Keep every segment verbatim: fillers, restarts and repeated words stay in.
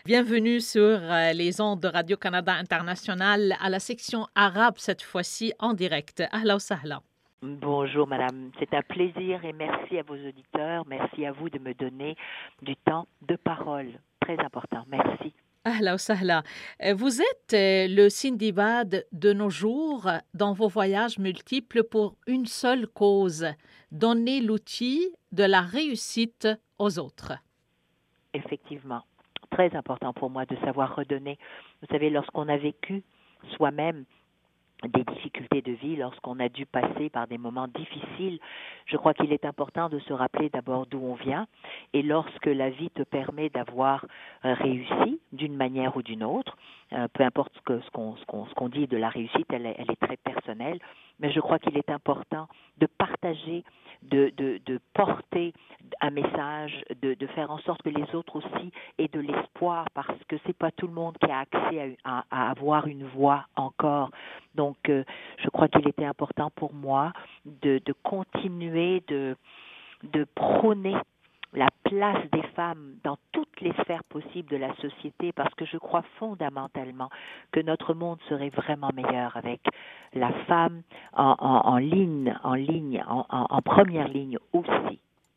Bienvenue sur euh, les ondes de Radio-Canada International à la section arabe cette fois-ci en direct. Ahla wa sahla. Bonjour madame, c'est un plaisir et merci à vos auditeurs, merci à vous de me donner du temps de parole, très important, merci. Ahla wa sahla. Euh, Vous êtes euh, le Sindibad de nos jours dans vos voyages multiples pour une seule cause, donner l'outil de la réussite aux autres. Effectivement, très important pour moi de savoir redonner. Vous savez, lorsqu'on a vécu soi-même des difficultés de vie, lorsqu'on a dû passer par des moments difficiles, je crois qu'il est important de se rappeler d'abord d'où on vient, et lorsque la vie te permet d'avoir euh, réussi d'une manière ou d'une autre, euh, peu importe ce, que, ce, qu'on, ce, qu'on, ce qu'on dit de la réussite, elle est, elle est très personnelle, mais je crois qu'il est important de partager, de, de, de porter un message, de, de faire en sorte que les autres aussi aient de l'espoir, parce que c'est pas tout le monde qui a accès à, à, à avoir une voix encore. Donc, euh, je crois qu'il était important pour moi de, de continuer de, de prôner la place des femmes dans toutes les sphères possibles de la société, parce que je crois fondamentalement que notre monde serait vraiment meilleur avec la femme en, en, en ligne, en ligne, en, en, en première ligne aussi.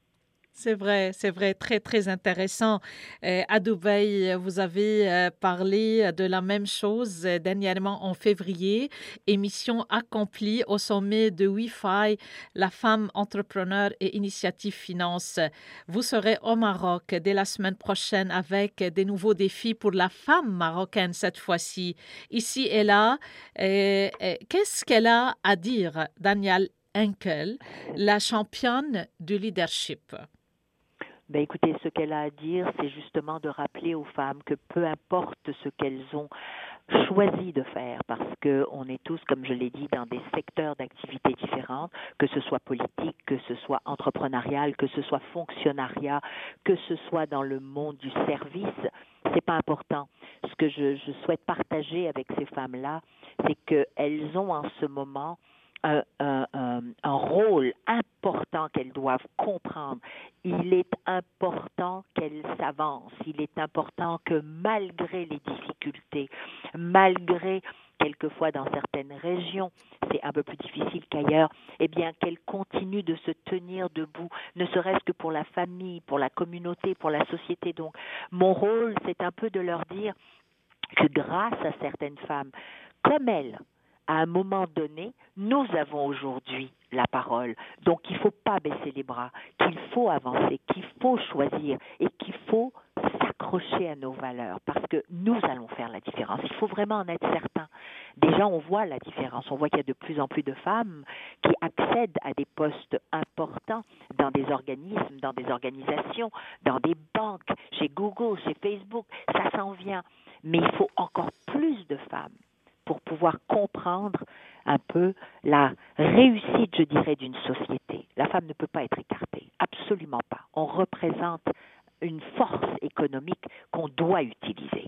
C'est vrai, c'est vrai, très, très intéressant. Euh, à Dubaï, vous avez euh, parlé de la même chose euh, dernièrement en février. Émission accomplie au sommet de Wi-Fi, la femme entrepreneur et initiative finance. Vous serez au Maroc dès la semaine prochaine avec des nouveaux défis pour la femme marocaine cette fois-ci. Ici et là, euh, euh, qu'est-ce qu'elle a à dire, Danielle Henkel, la championne du leadership? Ben écoutez, ce qu'elle a à dire, c'est justement de rappeler aux femmes que peu importe ce qu'elles ont choisi de faire, parce qu'on est tous, comme je l'ai dit, dans des secteurs d'activité différentes, que ce soit politique, que ce soit entrepreneurial, que ce soit fonctionnariat, que ce soit dans le monde du service, c'est pas important. Ce que je, je souhaite partager avec ces femmes-là, c'est qu'elles ont en ce moment Un, un, un, un rôle important qu'elles doivent comprendre. Il est important qu'elles s'avancent. Il est important que malgré les difficultés, malgré quelquefois dans certaines régions, c'est un peu plus difficile qu'ailleurs, eh bien qu'elles continuent de se tenir debout, ne serait-ce que pour la famille, pour la communauté, pour la société. Donc, mon rôle, c'est un peu de leur dire que grâce à certaines femmes, comme elles, à un moment donné, nous avons aujourd'hui la parole. Donc, il ne faut pas baisser les bras, qu'il faut avancer, qu'il faut choisir et qu'il faut s'accrocher à nos valeurs parce que nous allons faire la différence. Il faut vraiment en être certain. Déjà, on voit la différence. On voit qu'il y a de plus en plus de femmes qui accèdent à des postes importants dans des organismes, dans des organisations, dans des banques, chez Google, chez Facebook. Ça s'en vient. Mais il faut encore plus de femmes pour pouvoir comprendre un peu la réussite, je dirais, d'une société. La femme ne peut pas être écartée, absolument pas. On représente une force économique qu'on doit utiliser.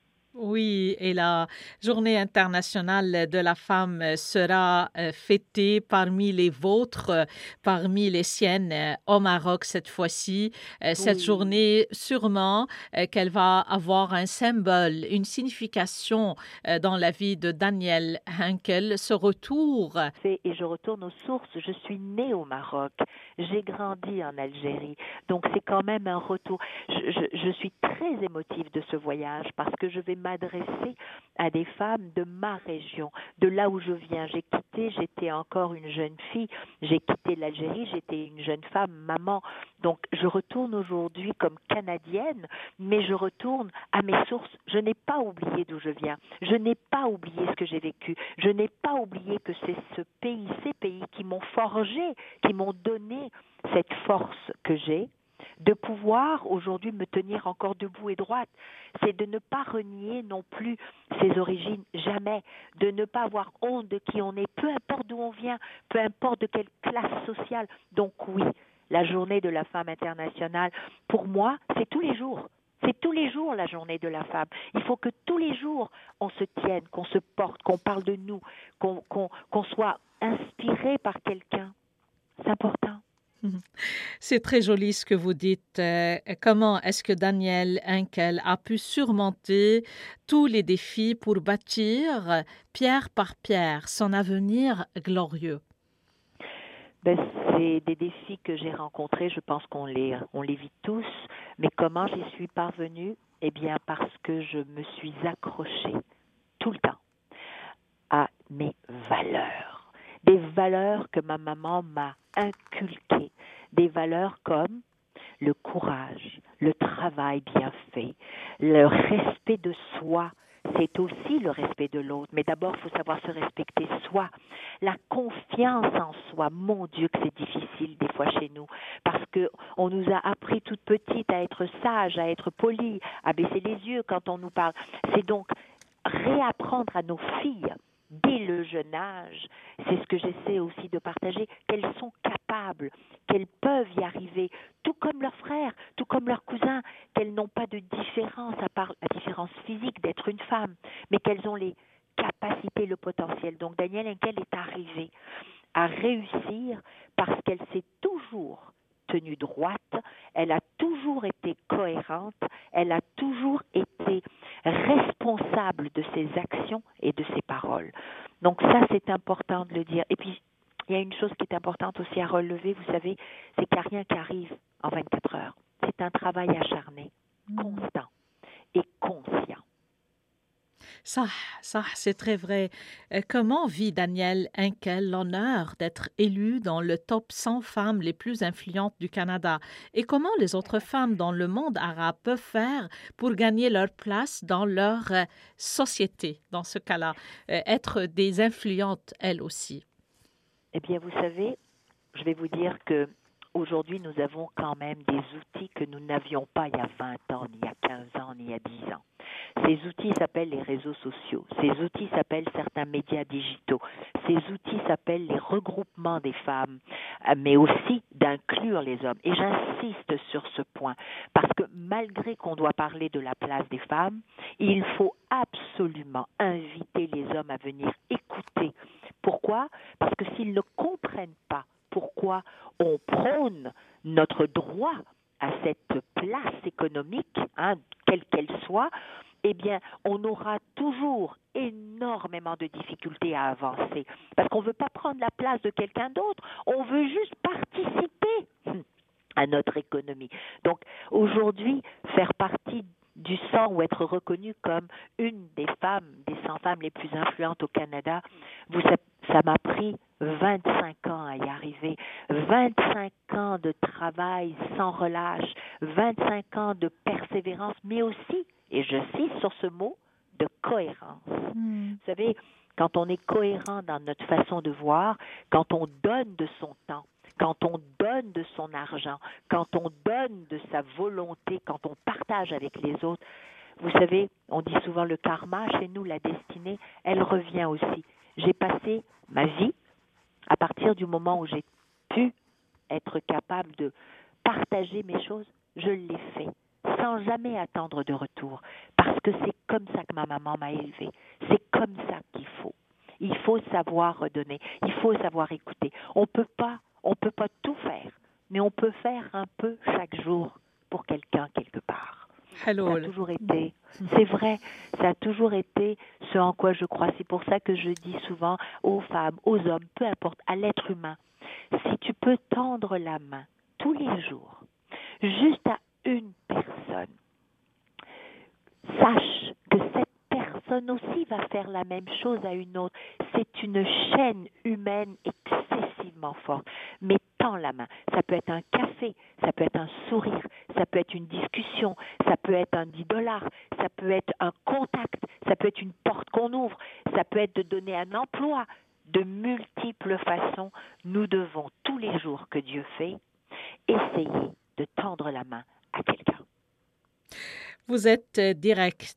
Oui, et la Journée internationale de la femme sera euh, fêtée parmi les vôtres, euh, parmi les siennes euh, au Maroc cette fois-ci. Euh, cette Oui. journée, sûrement euh, qu'elle va avoir un symbole, une signification euh, dans la vie de Danielle Henkel, ce retour. Et je retourne aux sources. Je suis née au Maroc. J'ai grandi en Algérie. Donc, c'est quand même un retour. Je, je, je suis très émotive de ce voyage parce que je vais m'adresser à des femmes de ma région, de là où je viens. J'ai quitté, j'étais encore une jeune fille. J'ai quitté l'Algérie, j'étais une jeune femme, maman. Donc, je retourne aujourd'hui comme Canadienne, mais je retourne à mes sources. Je n'ai pas oublié d'où je viens. Je n'ai pas oublié ce que j'ai vécu. Je n'ai pas oublié que c'est ce pays, ces pays qui m'ont forgé, qui m'ont donné cette force que j'ai de pouvoir aujourd'hui me tenir encore debout et droite. C'est de ne pas renier non plus ses origines, jamais. De ne pas avoir honte de qui on est, peu importe d'où on vient, peu importe de quelle classe sociale. Donc oui, la journée de la femme internationale, pour moi, c'est tous les jours. C'est tous les jours la journée de la femme. Il faut que tous les jours, on se tienne, qu'on se porte, qu'on parle de nous, qu'on, qu'on, qu'on soit inspiré par quelqu'un. C'est important. C'est très joli ce que vous dites. Euh, comment est-ce que Daniel Henkel a pu surmonter tous les défis pour bâtir, euh, pierre par pierre, son avenir glorieux? Ben, c'est des défis que j'ai rencontrés, je pense qu'on les, on les vit tous, mais comment j'y suis parvenue? Eh bien, parce que je me suis accrochée tout le temps à mes valeurs. Des valeurs que ma maman m'a inculquées. Des valeurs comme le courage, le travail bien fait, le respect de soi. C'est aussi le respect de l'autre, mais d'abord, il faut savoir se respecter soi. La confiance en soi, mon Dieu que c'est difficile des fois chez nous, parce qu'on nous a appris toute petite à être sage, à être poli, à baisser les yeux quand on nous parle. C'est donc réapprendre à nos filles dès le jeune âge, c'est ce que j'essaie aussi de partager, qu'elles sont capables, qu'elles peuvent y arriver, tout comme leurs frères, tout comme leurs cousins, qu'elles n'ont pas de différence à part la différence physique d'être une femme, mais qu'elles ont les capacités, le potentiel. Donc Danielle Henkel est arrivée à réussir parce qu'elle s'est toujours tenue droite, elle a toujours été cohérente, elle a toujours été responsable de ses actions et de ses paroles. Donc ça, c'est important de le dire. Et puis, il y a une chose qui est importante aussi à relever, vous savez, c'est qu'il n'y a rien qui arrive en vingt-quatre heures. C'est un travail acharné, constant et conscient. Ça, ça, c'est très vrai. Euh, Comment vit Danielle Henkel l'honneur d'être élue dans le top cent femmes les plus influentes du Canada? Et comment les autres femmes dans le monde arabe peuvent faire pour gagner leur place dans leur euh, société, dans ce cas-là, euh, être des influentes elles aussi? Eh bien, vous savez, je vais vous dire que aujourd'hui, nous avons quand même des outils que nous n'avions pas il y a vingt ans, ni il y a quinze ans, ni il y a dix ans. Ces outils s'appellent les réseaux sociaux. Ces outils s'appellent certains médias digitaux. Ces outils s'appellent les regroupements des femmes, mais aussi d'inclure les hommes. Et j'insiste sur ce point, parce que malgré qu'on doit parler de la place des femmes, il faut absolument inviter les hommes à venir écouter. Pourquoi? Parce que s'ils ne comprennent pas pourquoi on prône notre droit à cette place économique, hein, quelle qu'elle soit, eh bien, on aura toujours énormément de difficultés à avancer. Parce qu'on ne veut pas prendre la place de quelqu'un d'autre, on veut juste participer à notre économie. Donc, aujourd'hui, faire partie du cent ou être reconnue comme une des femmes, des cent femmes les plus influentes au Canada, vous, ça, ça m'a pris vingt-cinq ans à y arriver, vingt-cinq ans de travail sans relâche, vingt-cinq ans de persévérance, mais aussi, et j'insiste sur ce mot, de cohérence. Mm. Vous savez, quand on est cohérent dans notre façon de voir, quand on donne de son temps, quand on donne de son argent, quand on donne de sa volonté, quand on partage avec les autres, vous savez, on dit souvent le karma, chez nous, la destinée, elle revient aussi. J'ai passé ma vie, à partir du moment où j'ai pu être capable de partager mes choses, je l'ai fait, sans jamais attendre de retour, parce que c'est comme ça que ma maman m'a élevée, c'est comme ça qu'il faut. Il faut savoir redonner, il faut savoir écouter. On peut pas On ne peut pas tout faire, mais on peut faire un peu chaque jour pour quelqu'un quelque part. Hello. Ça a toujours été, c'est vrai, ça a toujours été ce en quoi je crois. C'est pour ça que je dis souvent aux femmes, aux hommes, peu importe, à l'être humain, si tu peux tendre la main tous les jours, juste à une personne, sache que cette personne aussi va faire la même chose à une autre. C'est une chaîne humaine excessivement forte. Mais tends la main. Ça peut être un café, ça peut être un sourire, ça peut être une discussion, ça peut être un dix dollars, ça peut être un contact, ça peut être une porte qu'on ouvre, ça peut être de donner un emploi. De multiples façons, nous devons tous les jours que Dieu fait, essayer de tendre la main à quelqu'un. Vous êtes direct.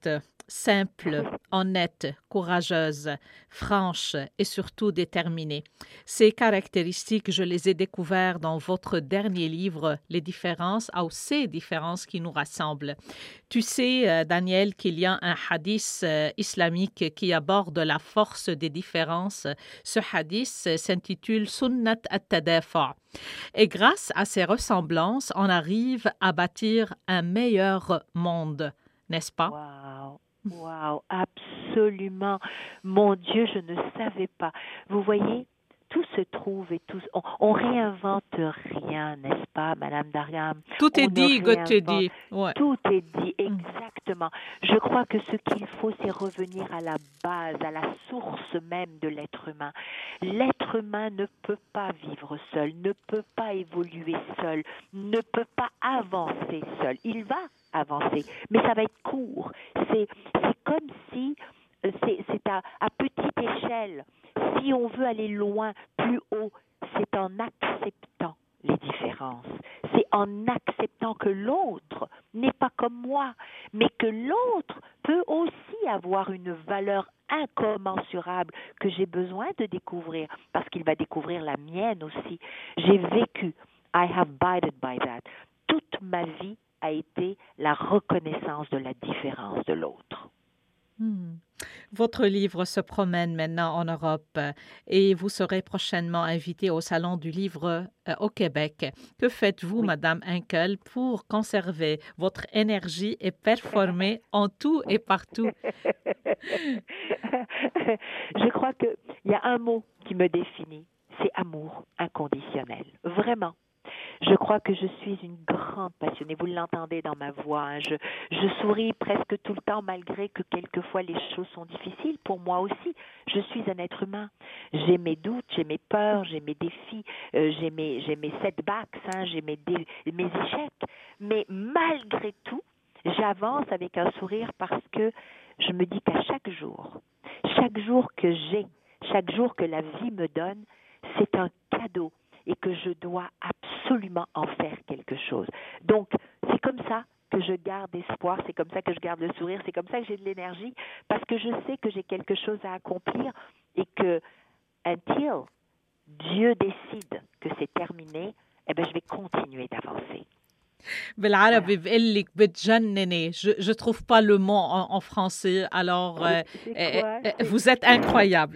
simple, honnête, courageuse, franche et surtout déterminée. Ces caractéristiques, je les ai découvertes dans votre dernier livre, Les différences, ou ces différences qui nous rassemblent. Tu sais, euh, Daniel, qu'il y a un hadith euh, islamique qui aborde la force des différences. Ce hadith euh, s'intitule Sunnat at-Tadafa. Et grâce à ces ressemblances, on arrive à bâtir un meilleur monde, n'est-ce pas? Waouh, waouh, absolument. Mon Dieu, je ne savais pas. Vous voyez, tout se trouve et tout. On, on réinvente rien, n'est-ce pas, Madame Dariam? Tout est On ne dit, God te réinvente- dit. Ouais. Tout est dit, exactement. Je crois que ce qu'il faut, c'est revenir à la base, à la source même de l'être humain. L'être humain ne peut pas vivre seul, ne peut pas évoluer seul, ne peut pas avancer seul. Il va avancer, mais ça va être court. C'est, c'est comme si, euh, c'est, c'est à, à petite échelle. Si on veut aller loin, plus haut, c'est en acceptant les différences. C'est en acceptant que l'autre n'est pas comme moi, mais que l'autre peut aussi avoir une valeur incommensurable que j'ai besoin de découvrir, parce qu'il va découvrir la mienne aussi. J'ai vécu, I have abided by that. Toute ma vie a été la reconnaissance de la différence de l'autre. Hmm. Votre livre se promène maintenant en Europe euh, et vous serez prochainement invité au Salon du livre euh, au Québec. Que faites-vous, Oui. Madame Henkel, pour conserver votre énergie et performer en tout et partout? Je crois qu'il y a un mot qui me définit, c'est amour inconditionnel. Vraiment. Je crois que je suis une grande passionnée. Vous l'entendez dans ma voix. Hein. Je, je souris presque tout le temps, malgré que quelquefois les choses sont difficiles pour moi aussi. Je suis un être humain. J'ai mes doutes, j'ai mes peurs, j'ai mes défis, euh, j'ai mes, j'ai mes setbacks, hein, j'ai mes, dé, mes échecs. Mais malgré tout, j'avance avec un sourire parce que je me dis qu'à chaque jour, chaque jour que j'ai, chaque jour que la vie me donne, c'est un cadeau et que je dois absolument en faire quelque chose. Donc, c'est comme ça que je garde espoir, c'est comme ça que je garde le sourire, c'est comme ça que j'ai de l'énergie, parce que je sais que j'ai quelque chose à accomplir et que, until Dieu décide que c'est terminé, eh bien, je vais continuer d'avancer. بالعربي بقول لك بتجنني. Je je trouve pas le mot en, en français. Alors euh, C'est euh, quoi? euh, vous êtes incroyable.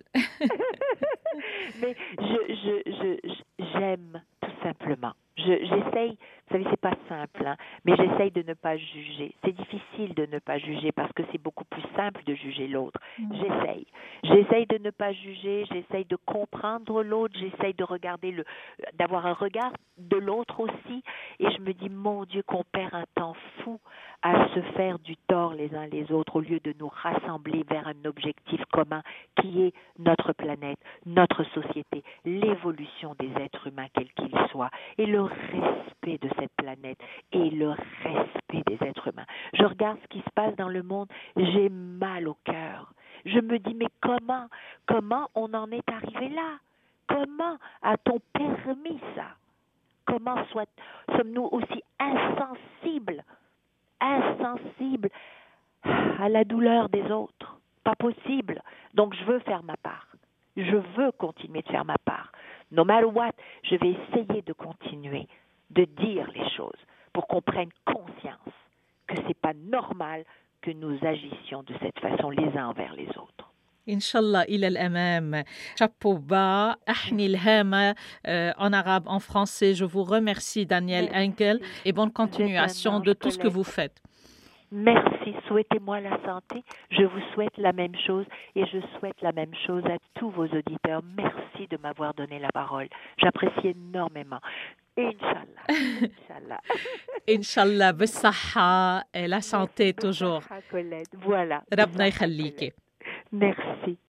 Mais je, je, je, je- j'aime tout simplement. Je, j'essaye, vous savez, c'est pas simple, hein, mais j'essaye de ne pas juger. C'est difficile de ne pas juger parce que c'est beaucoup plus simple de juger l'autre. J'essaye. J'essaye de ne pas juger, j'essaye de comprendre l'autre, j'essaye de regarder le, d'avoir un regard de l'autre aussi. Et je me dis, mon Dieu, qu'on perd un temps fou à se faire du tort les uns les autres au lieu de nous rassembler vers un objectif commun qui est notre planète, notre société, l'évolution des êtres humains quels qu'ils soient et le respect de cette planète et le respect des êtres humains. Je regarde ce qui se passe dans le monde, j'ai mal au cœur. Je me dis, mais comment, comment on en est arrivé là? Comment a-t-on permis ça? Comment soit, sommes-nous aussi insensibles, insensibles à la douleur des autres? Pas possible. Donc je veux faire ma part. Je veux continuer de faire ma part. No matter what, je vais essayer de continuer de dire les choses pour qu'on prenne conscience que c'est pas normal que nous agissions de cette façon les uns envers les autres. Inch'Allah, إلى الأمام. Chapeau bas, أحني الهامة euh, en arabe, en français. Je vous remercie, Daniel Henkel, et bonne continuation de tout ce que vous faites. Merci, souhaitez-moi la santé. Je vous souhaite la même chose et je souhaite la même chose à tous vos auditeurs. Merci de m'avoir donné la parole. J'apprécie énormément. Inch'Allah. Inch'Allah. Inch'Allah, بالصحة, la santé toujours. Voilà. ربنا يخليكي. Merci.